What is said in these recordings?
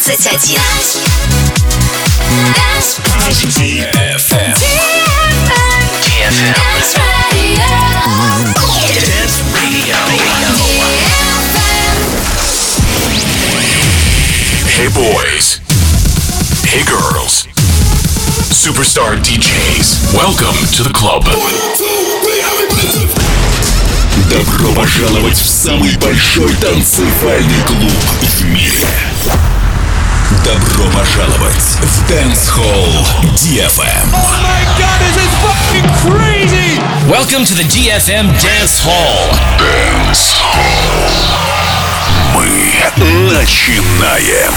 21. DFM. Dance Radio. Dance Radio. Hey boys. Hey girls. Superstar DJs. Welcome to the club. Добро пожаловать в самый большой танцевальный клуб в мире. Добро пожаловать в Dance Hall DFM. Oh my god, this is fucking crazy! Welcome to the DFM Dance Hall. Dance Hall. Мы начинаем.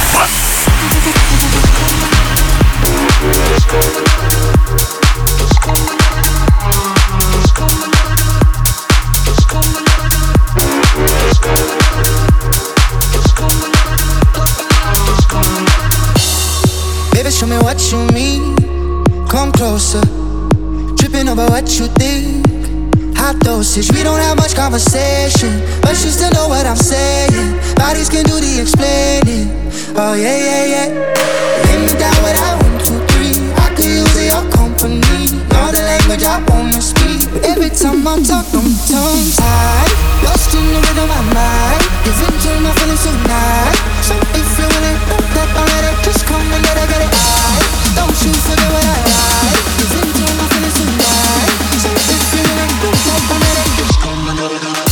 Baby, show me what you mean. Come closer. Tripping over what you think. Hot dosage. We don't have much conversation, but you still know what I'm saying. Bodies can do the explaining. Oh yeah, yeah, yeah. Lay me down without 1, 2, 3. I could use your company. Know the language I wanna speak, but every time I talk, I'm tongue-tied. Lost in the rhythm of my mind. Give into my feelings tonight. So if you really know that already, just come and get it right. Don't you forget what I like. Give into my feelings tonight. So if you really know that already, just come and get it right.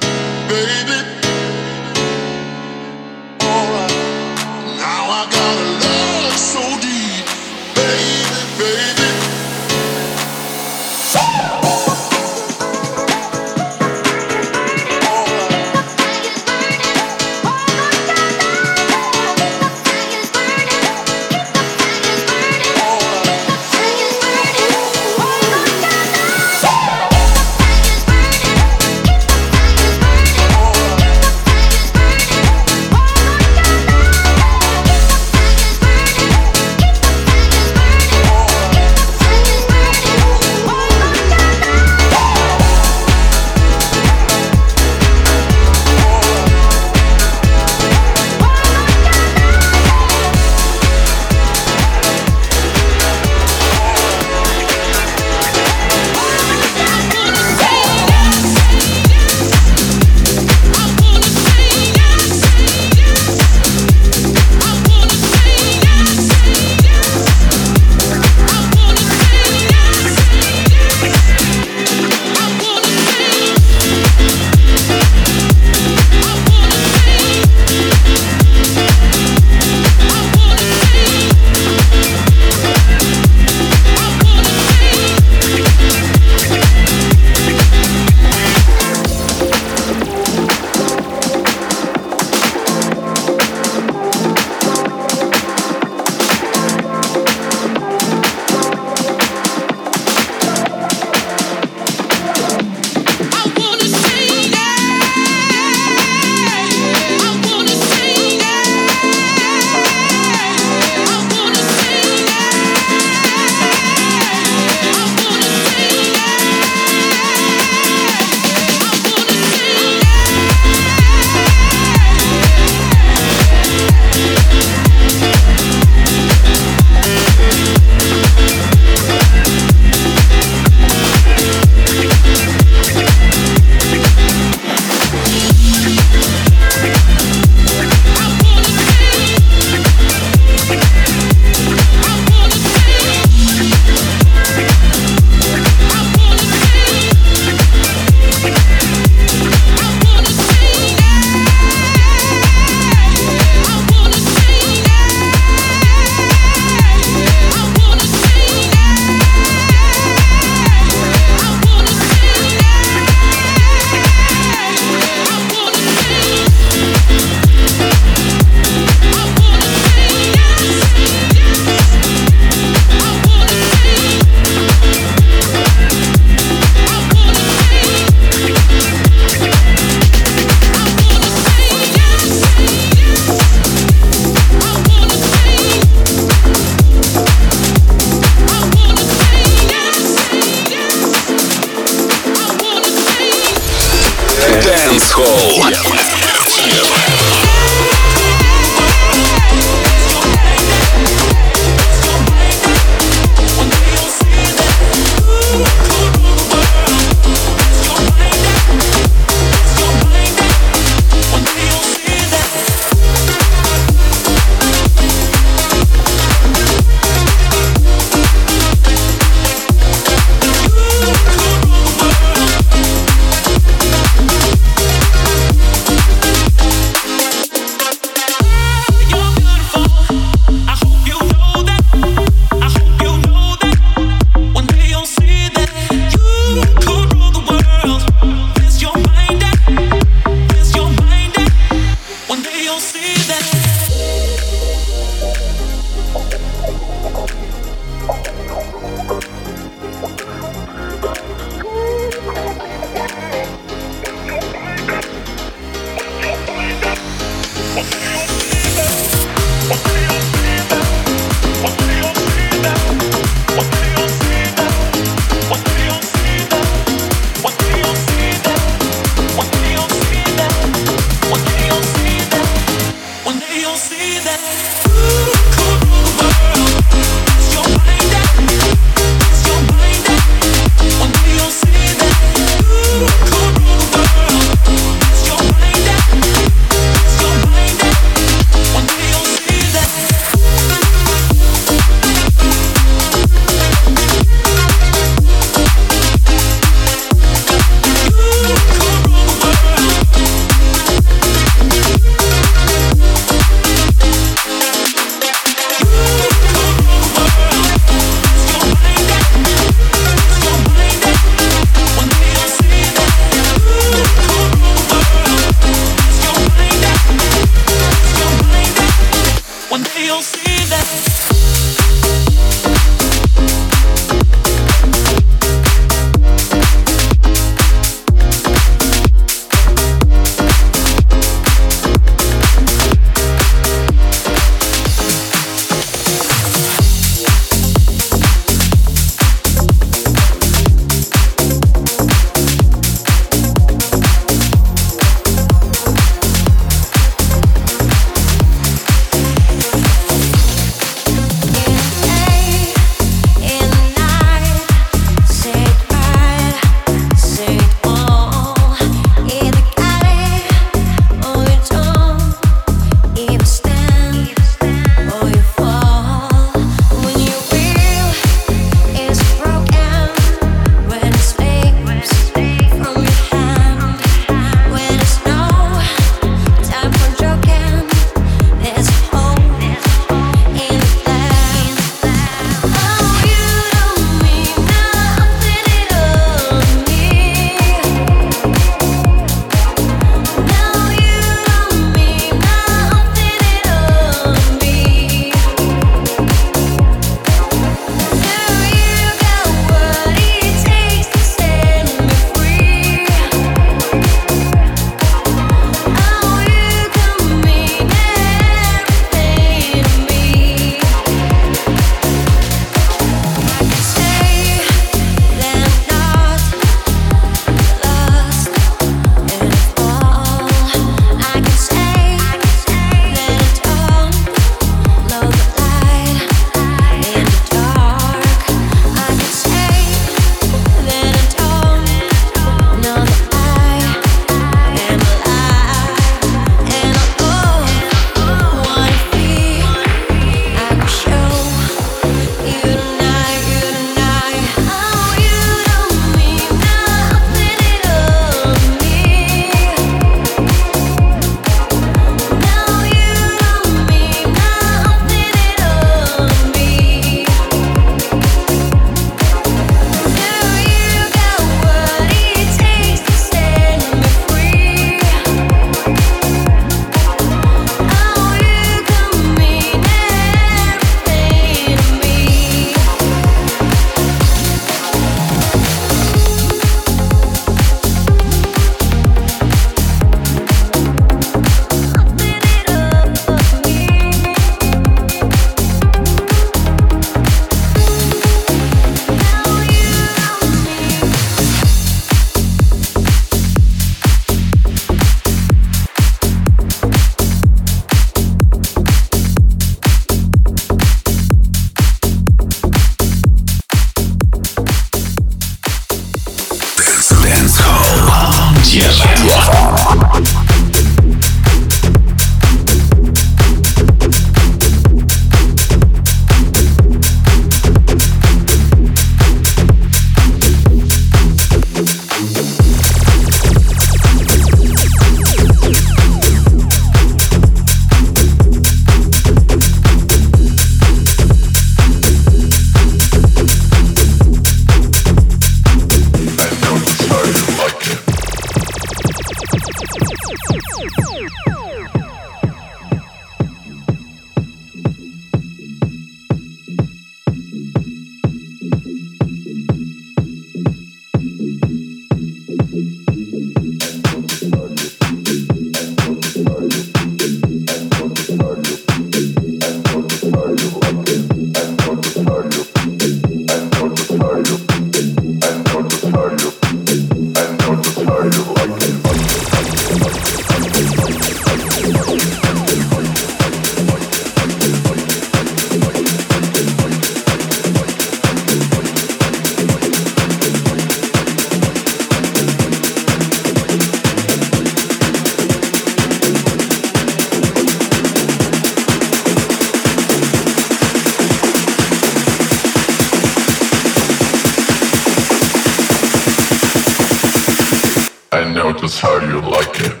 know just how you like it.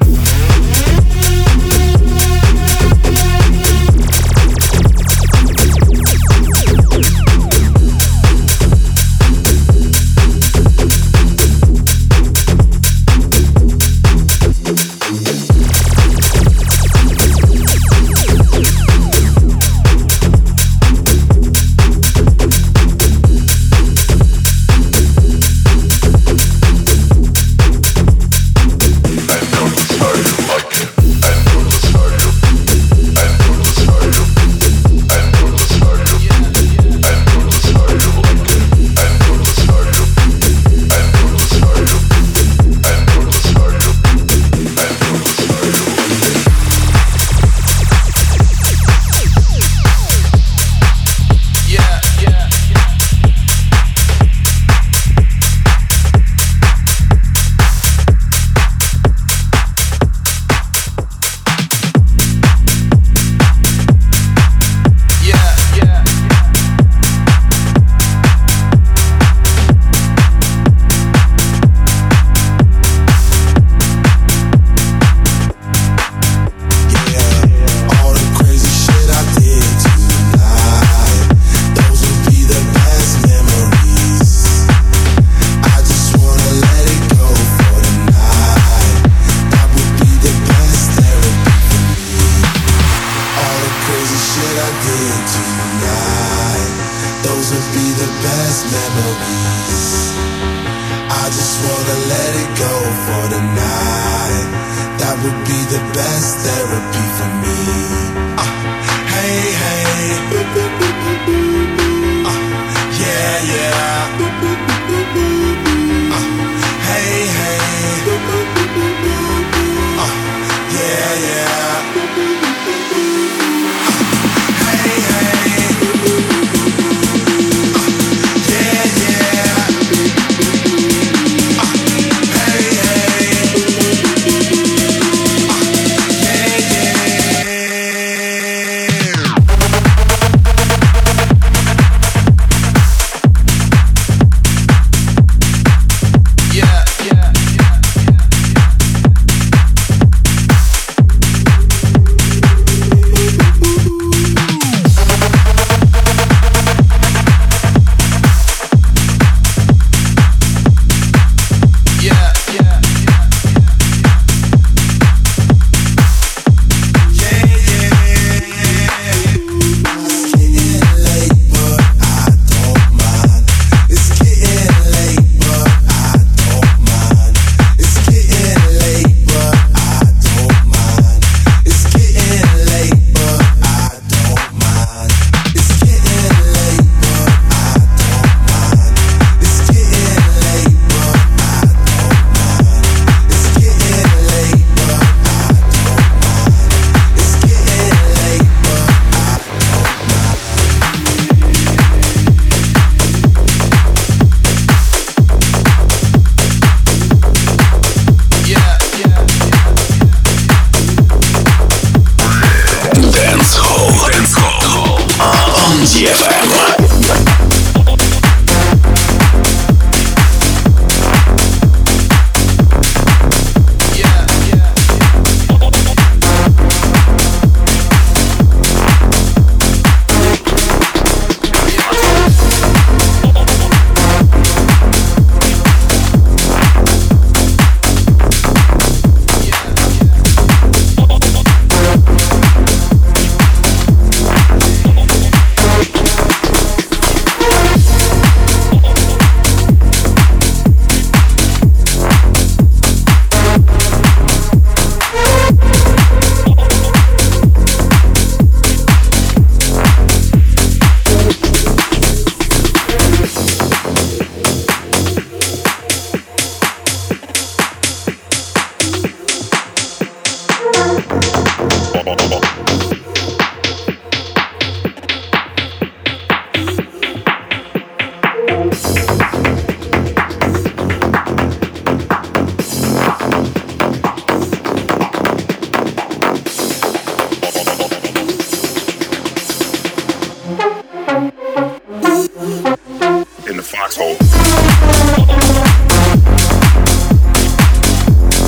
in the foxhole.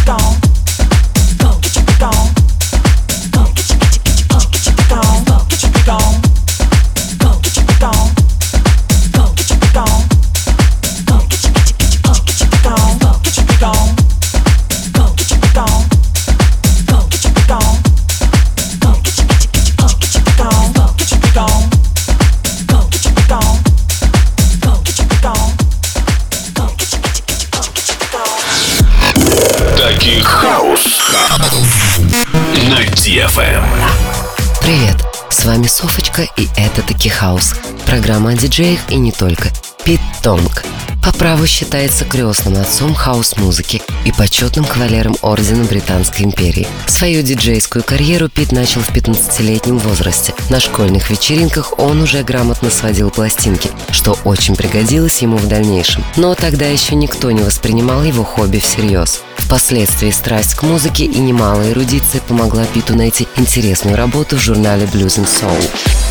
Привет, с вами Софочка, и это Таки Хаус. Программа о диджеях и не только. Пит Тонг по праву считается крестным отцом хаус-музыки и почетным кавалером Ордена Британской империи. Свою диджейскую карьеру Пит начал в 15-летнем возрасте. На школьных вечеринках он уже грамотно сводил пластинки, что очень пригодилось ему в дальнейшем. Но тогда еще никто не воспринимал его хобби всерьез. Впоследствии страсть к музыке и немалая эрудиция помогла Питу найти интересную работу в журнале Blues and Soul.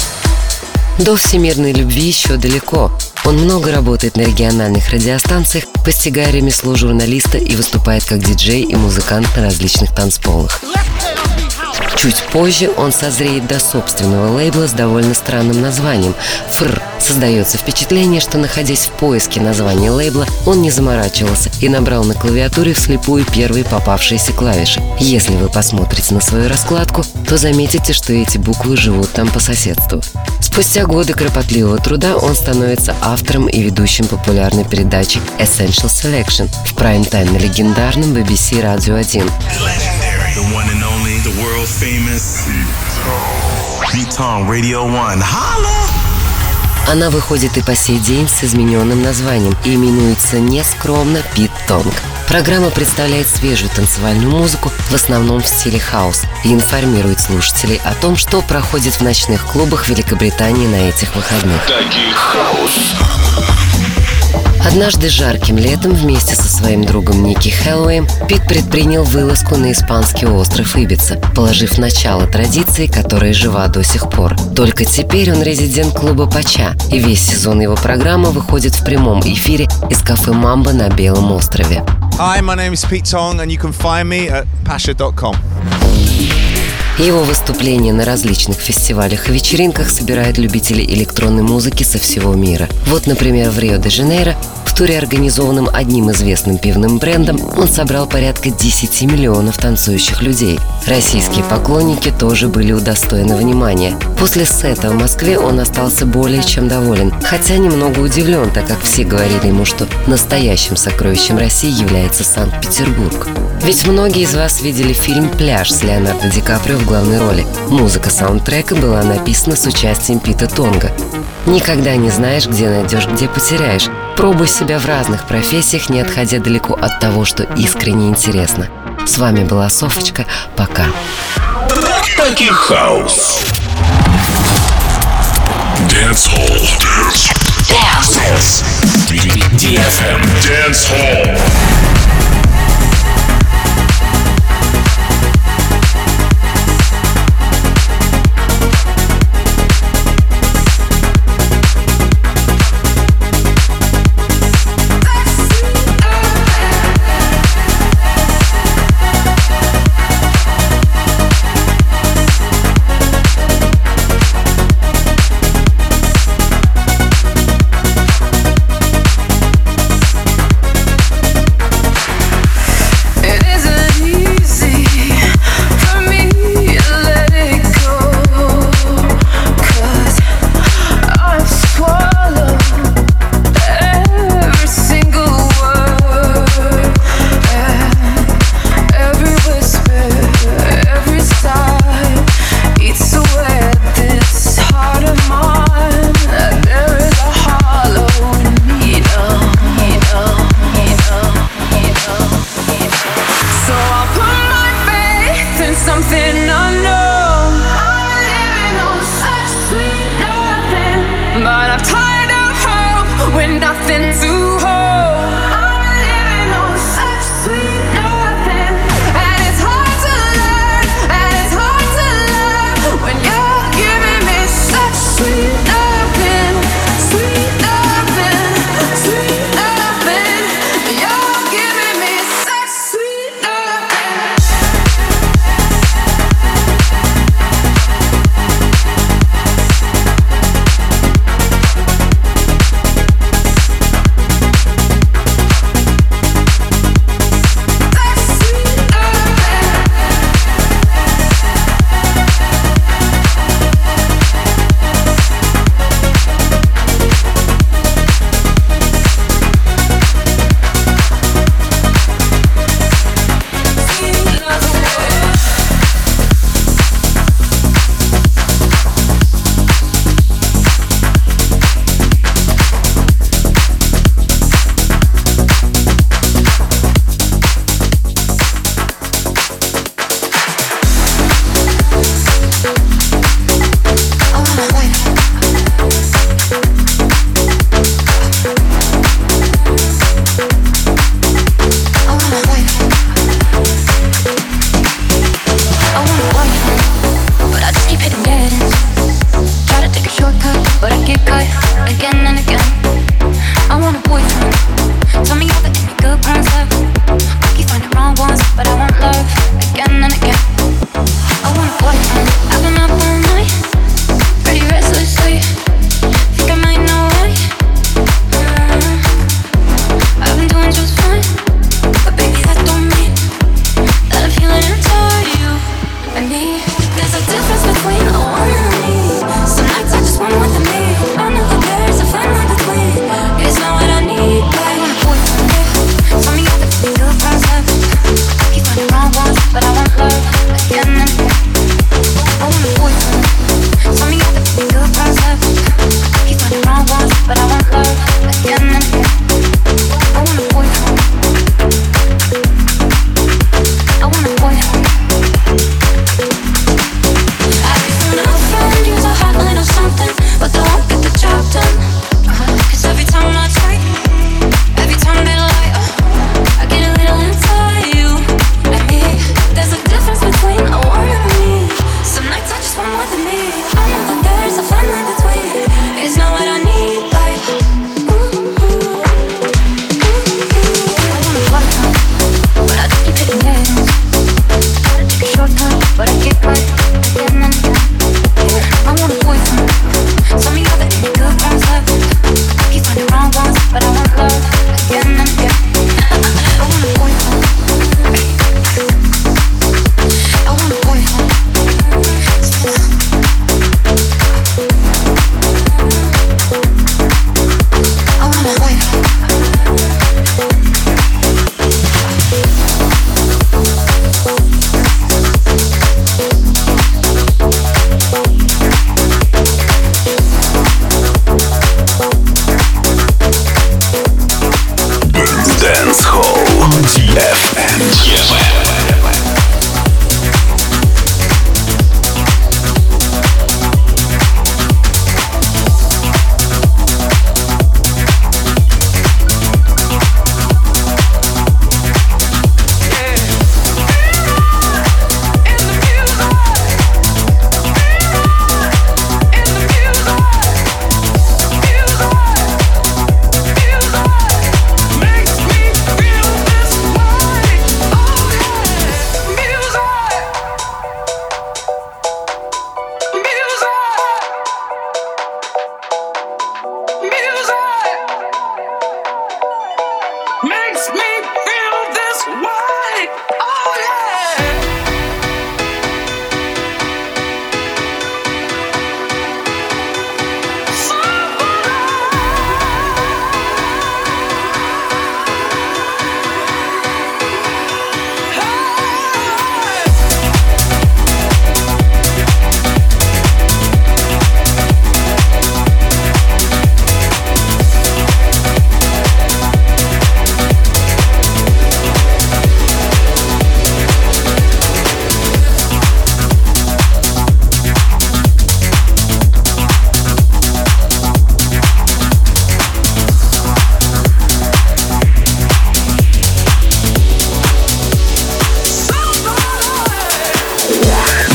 До всемирной любви еще далеко. Он много работает на региональных радиостанциях, постигая ремесло журналиста и выступает как диджей и музыкант на различных танцполах. Чуть позже он созреет до собственного лейбла с довольно странным названием «ФР». Создается впечатление, что, находясь в поиске названия лейбла, он не заморачивался и набрал на клавиатуре вслепую первые попавшиеся клавиши. Если вы посмотрите на свою раскладку, то заметите, что эти буквы живут там по соседству. Спустя годы кропотливого труда он становится автором и ведущим популярной передачи Essential Selection в прайм-тайм на легендарном BBC Radio 1. The one and only, the world famous Pete-Tong Radio 1. Holla! Она выходит и по сей день с измененным названием и именуется нескромно Пит Тонг. Программа представляет свежую танцевальную музыку, в основном в стиле хаус, и информирует слушателей о том, что проходит в ночных клубах Великобритании на этих выходных. Однажды жарким летом вместе со своим другом Ники Хэллоуэем Пит предпринял вылазку на испанский остров Ибица, положив начало традиции, которая жива до сих пор. Только теперь он резидент клуба Пача, и весь сезон его программа выходит в прямом эфире из кафе «Мамба» на Белом острове. Hi, my name is Pete Tong, and you can find me at pasha.com. Его выступления на различных фестивалях и вечеринках собирают любителей электронной музыки со всего мира. Вот, например, в Рио-де-Жанейро, в туре, организованном одним известным пивным брендом, он собрал порядка 10 миллионов танцующих людей. Российские поклонники тоже были удостоены внимания. После сета в Москве он остался более чем доволен, хотя немного удивлен, так как все говорили ему, что настоящим сокровищем России является Санкт-Петербург. Ведь многие из вас видели фильм «Пляж» с Леонардо Ди Каприо в главной роли. Музыка саундтрека была написана с участием Пита Тонга. Никогда не знаешь, где найдешь, где потеряешь. Пробуй себя в разных профессиях, не отходя далеко от того, что искренне интересно. С вами была Софочка. Пока. Таки Хаус. Dance Hall. Dance. DFM Dance Hall.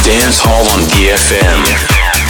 Dance Hall on DFM.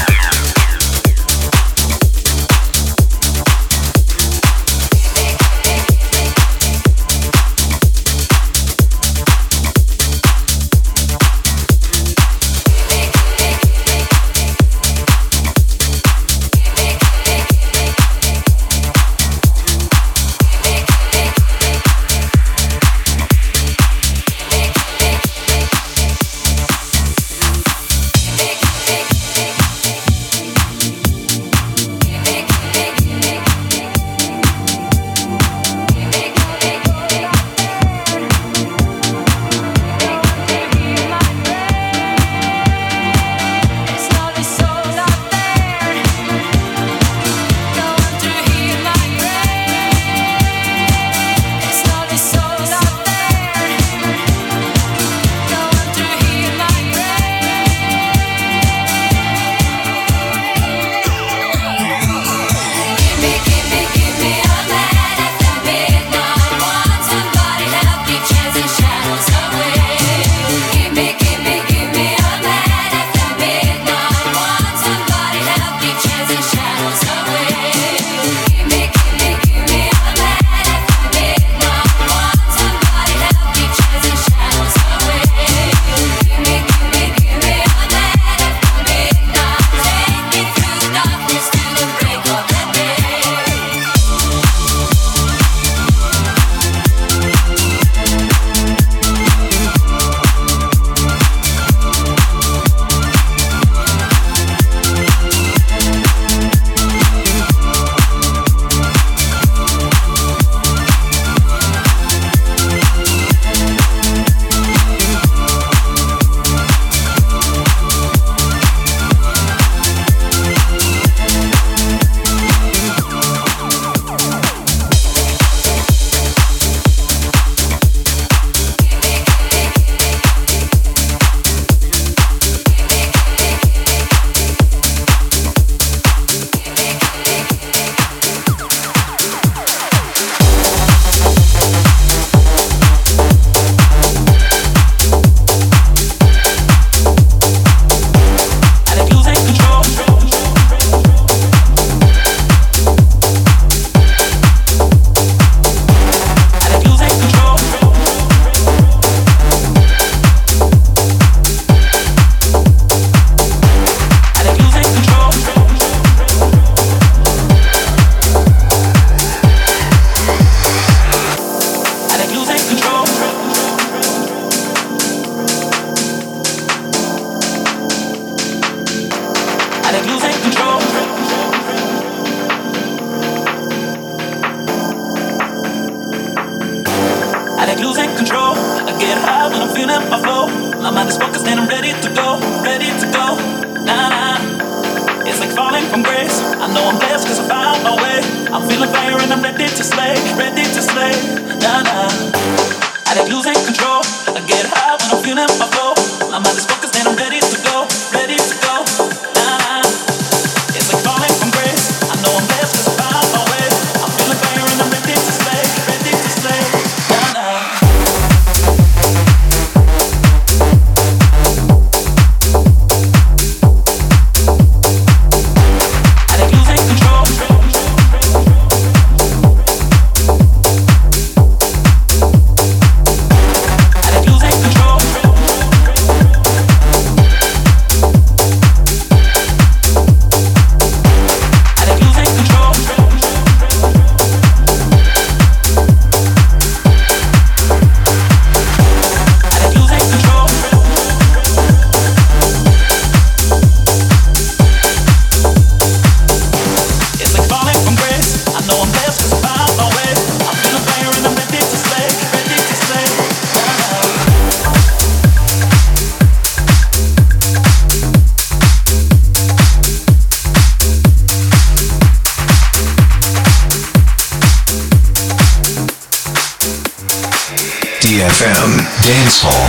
DFM Dance Hall.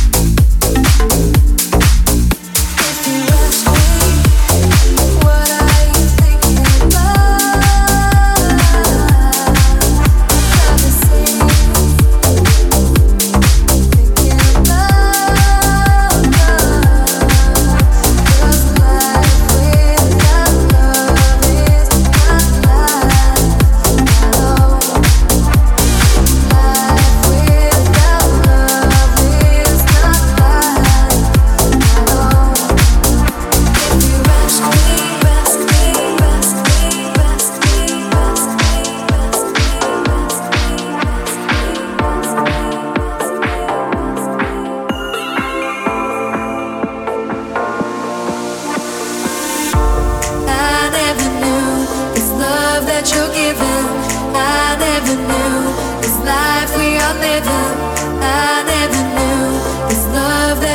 What I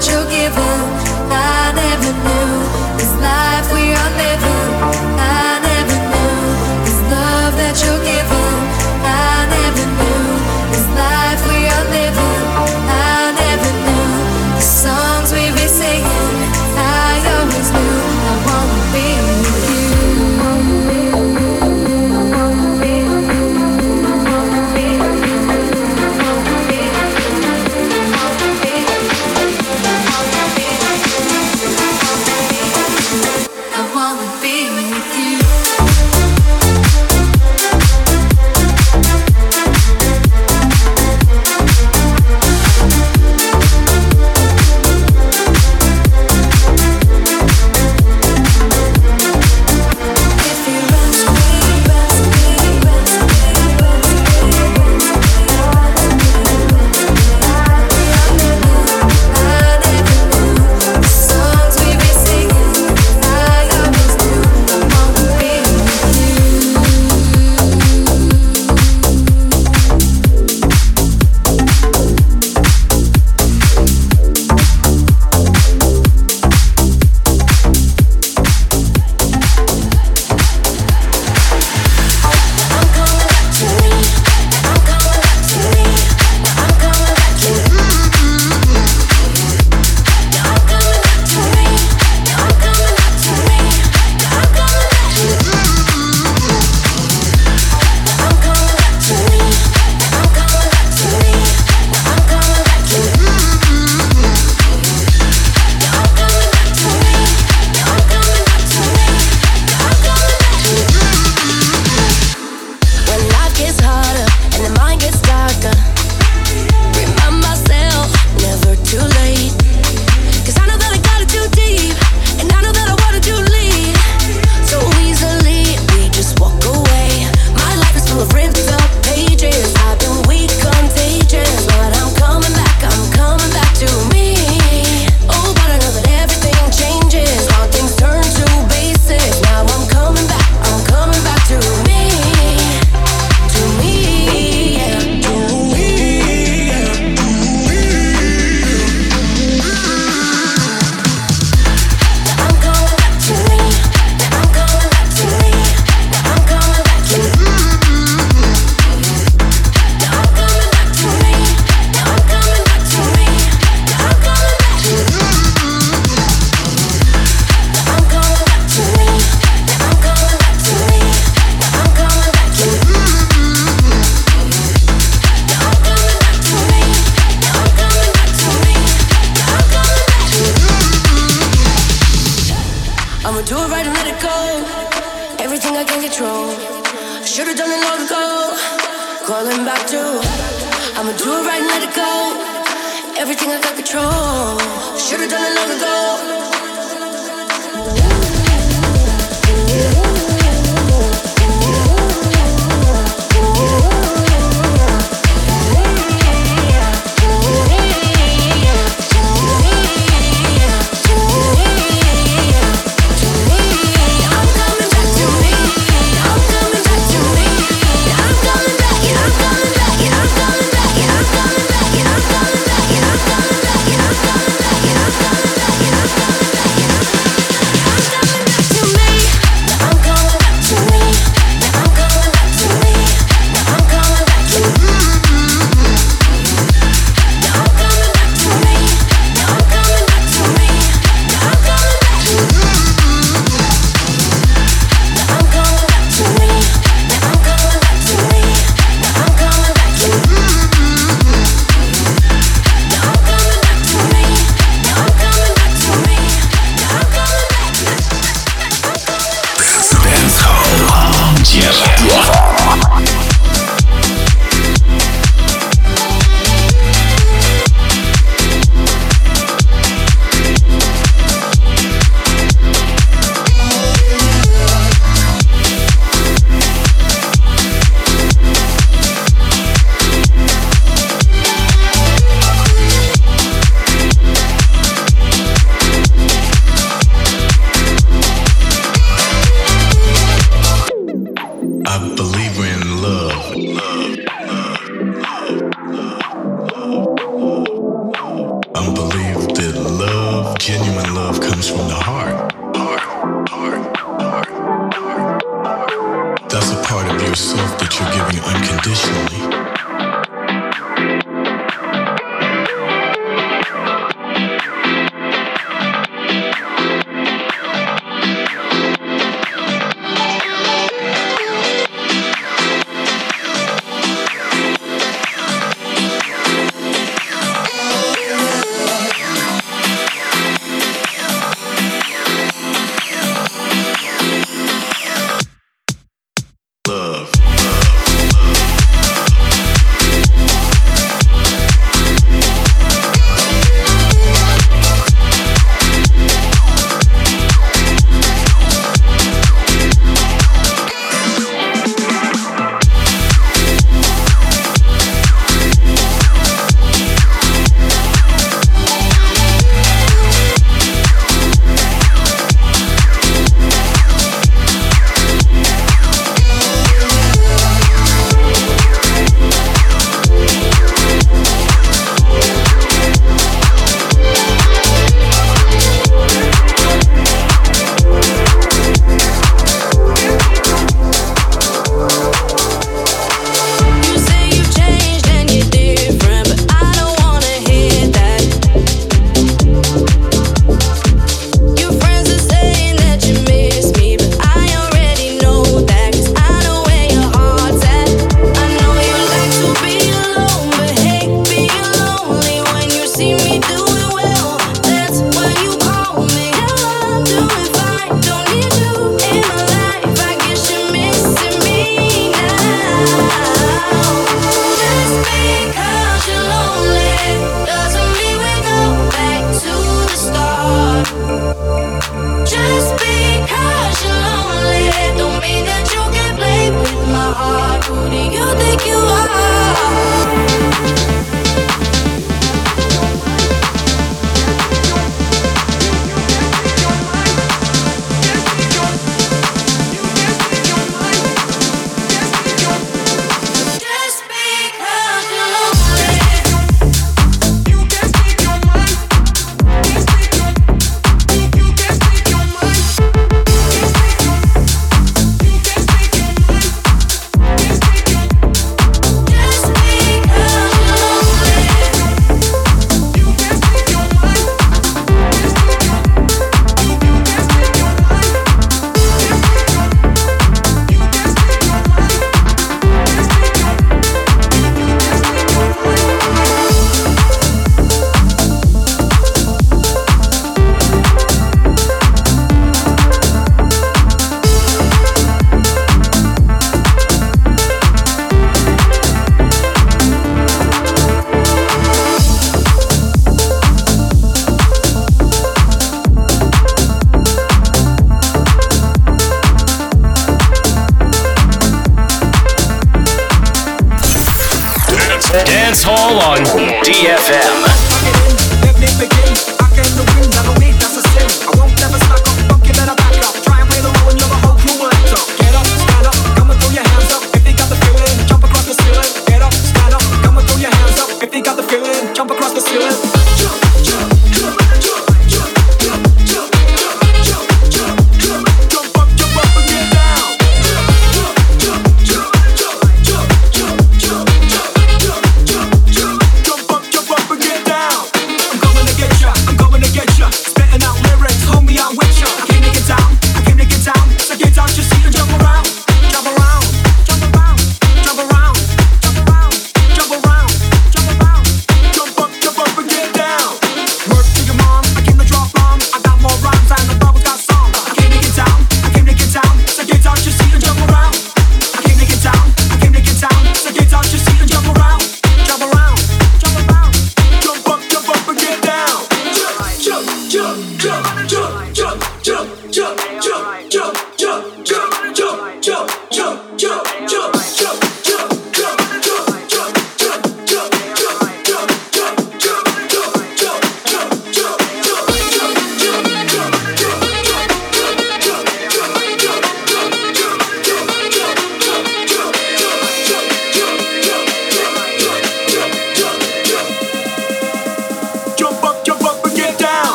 that you're giving, I never knew. This life we are living, I never knew. This love that you're giving, I never knew. This life we are living, I never knew. The songs we be singing, I always knew. I wanna be with you. genuine love comes from the heart. That's a part of yourself that you're giving unconditionally. Dance Hall on DFM. Get down.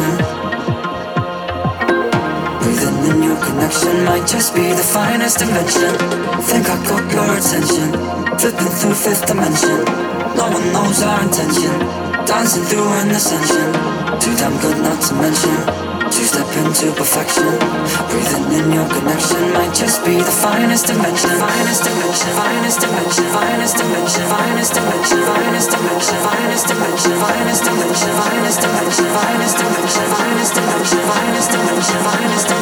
dimension. Breathing in your connection might just be the finest invention. Think I got your attention, flipping through fifth dimension. No one knows our intention, dancing through an ascension. Too damn good not to mention, two-step into perfection. Breathing in your connection might just be the finest dimension. Finest dimension, finest dimension, finest dimension, finest dimension, finest dimension, finest dimension, finest dimension, finest dimension, finest dimension, finest dimension, finest dimension, finest dimension, finest